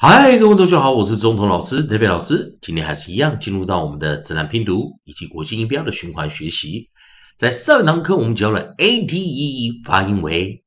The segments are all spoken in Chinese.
嗨，各位同学好，我是中童老师 David 老师。今天还是一样，进入到我们的自然拼读以及国际音标的循环学习。在上一堂课，我们教了 ate， 发音为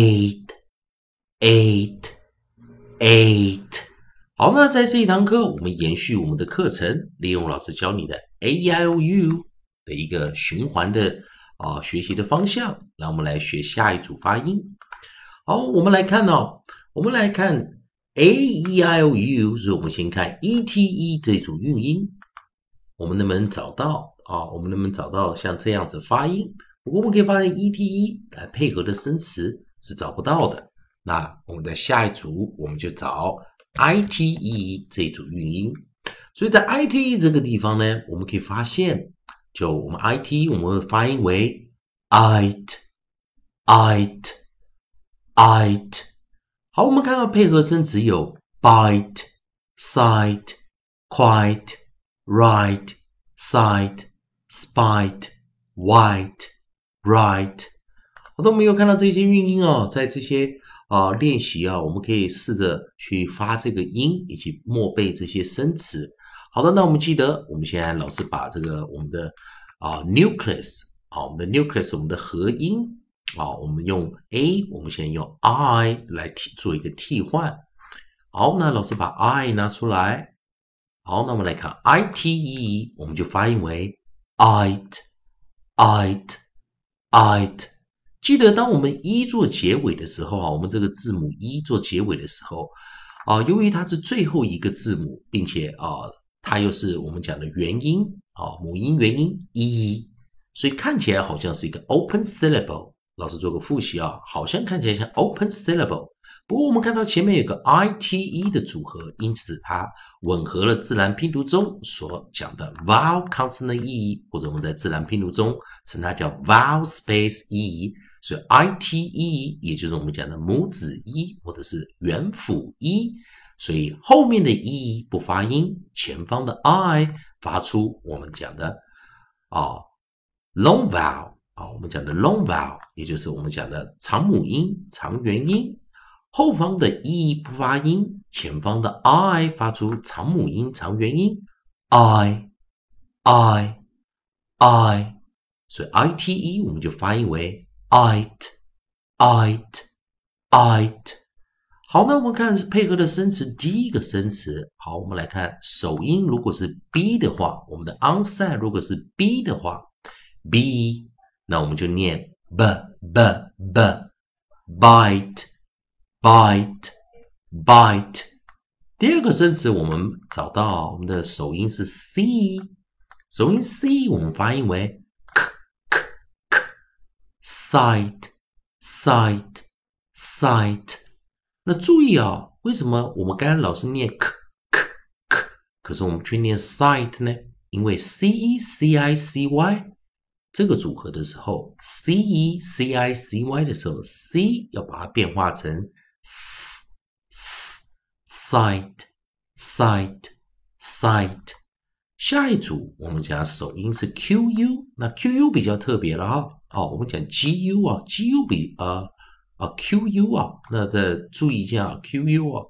ate。好，那在这一堂课，我们延续我们的课程，利用老师教你的 a-i-o-u 的一个循环的学习的方向，让我们来学下一组发音。好，我们来看我们来看 A-E-I-O-U， 所以我们先看 E-T-E 这组韵音，我们能不能找到我们能不能找到像这样子发音？不过我们可以发现 E-T-E 来配合的生词是找不到的。那我们在下一组我们就找 I-T-E 这组韵音。所以在 I-T-E 这个地方呢，我们可以发现，就我们 I-T-E 我们会发音为 Ite。好，我们看到配合声词有 bite、sight、quiet、right、side、spite、white、right。好的，我们有看到这些韵音在这些练习我们可以试着去发这个音，以及默背这些生词。好的，那我们记得，我们现在老师把这个我们的nucleus 我们的 nucleus 我们的合音我们用 A， 我们现在用 I 来做一个替换。好，那老师把 I 拿出来。好，那我们来看 ITE， 我们就发音为 ite。记得当我们 E 做结尾的时候我们这个字母 E 做结尾的时候由于它是最后一个字母，并且它又是我们讲的元音母音元音 E， 所以看起来好像是一个 open syllable。老师做个复习好像看起来像 open syllable， 不过我们看到前面有个 ITE 的组合，因此它吻合了自然拼读中所讲的 vowel consonant E， 或者我们在自然拼读中称它叫 vowel space E， 所以 ITE 也就是我们讲的母子 E 或者是元辅 E， 所以后面的 E 不发音，前方的 I 发出我们讲的long vowel。我们讲的 long vowel， 也就是我们讲的长母音、长元音，后方的 E 不发音，前方的 I 发出长母音、长元音 I， 所以 ITE 我们就发音为 ite。好，那我们看配合的生词，第一个生词，好，我们来看首音，如果是 B 的话，我们的 onset 如果是 B 的话 ，B。那我们就念 bite。第二个生词我们找到我们的首音是 C， 首音 C 我们发音为 sight。那注意为什么我们刚刚老是念 可是我们去念 sight 呢？因为 C-E-C-I-C-Y这个组合的时候 C-E-C-I-C-Y 的时候 C 要把它变化成 sight。下一组我们讲首音是 QU， 那 QU 比较特别了我们讲 GU 比QU 那再注意一下QU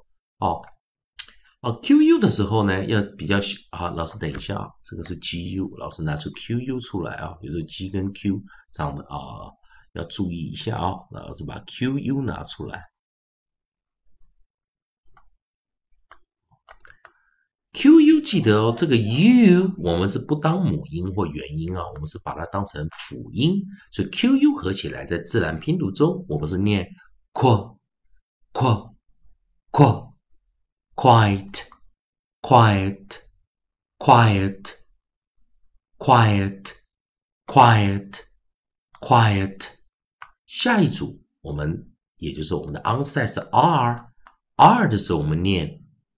QU 的时候呢，要比较老师等一下这个是 GU， 老师拿出 QU 出来比如说 G 跟 Q 这样的要注意一下老师把 QU 拿出来。QU 记得这个 U 我们是不当母音或元音我们是把它当成辅音，所以 QU 合起来在自然拼读中，我们是念 quiet。下一组我们也就是我们的 onset 是 R 的时候我们念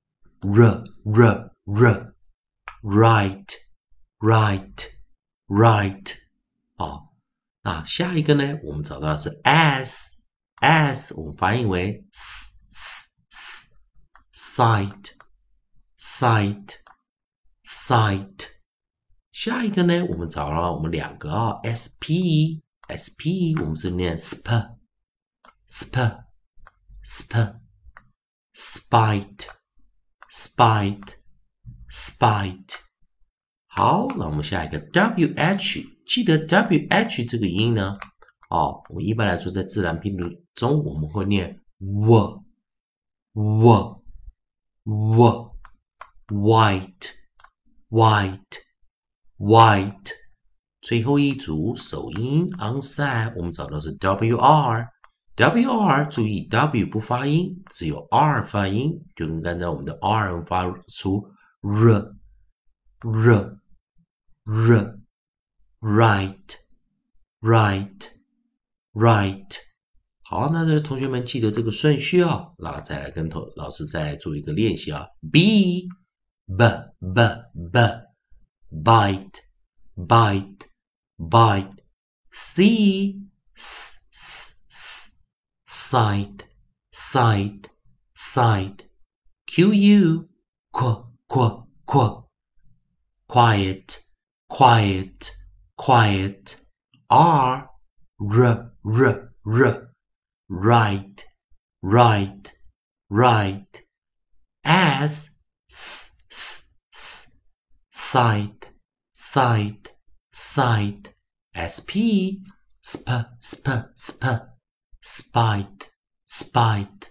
right。那下一个呢我们找到的是 S 我们发音为 sight。下一个呢我们找到我们两个SP 我们是念 spite。 spite。好，那我们下一个 wh， 记得 wh 这个音呢，我们一般来说在自然拼读中我们会念 white，最后一组首音 onset， 我们找到是 wr， 注意 w 不发音，只有 r 发音，就跟刚才我们的 r 发出 right。好，那这同学们记得这个顺序啊，然后再来跟老师再来做一个练习啊。b bite c side q quiet r right s side sp spite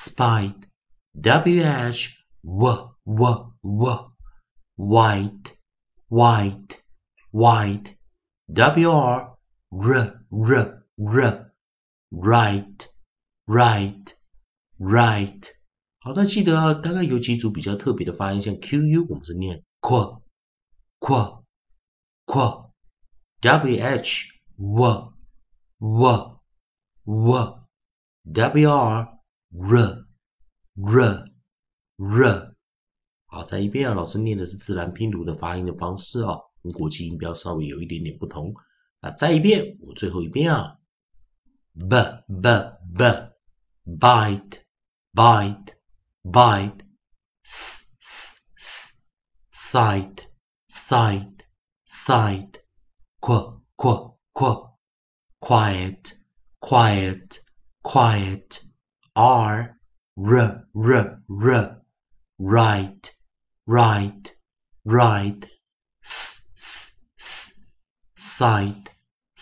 wh white wr right。好，那记得啊，刚刚有几组比较特别的发音，像 QU 我们是念 wh wr 好，再一遍啊，老师念的是自然拼读的发音的方式啊，跟国际音标稍微有一点点不同。那再一遍，我最后一遍啊 bite side quiet r right side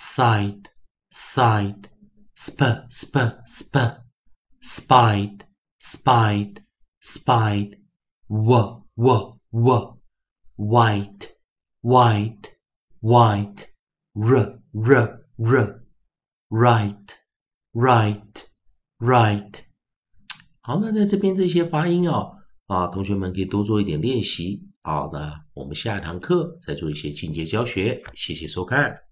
spite wh white right。好，那在这边这些发音同学们可以多做一点练习。好，那我们下一堂课再做一些进阶教学。谢谢收看。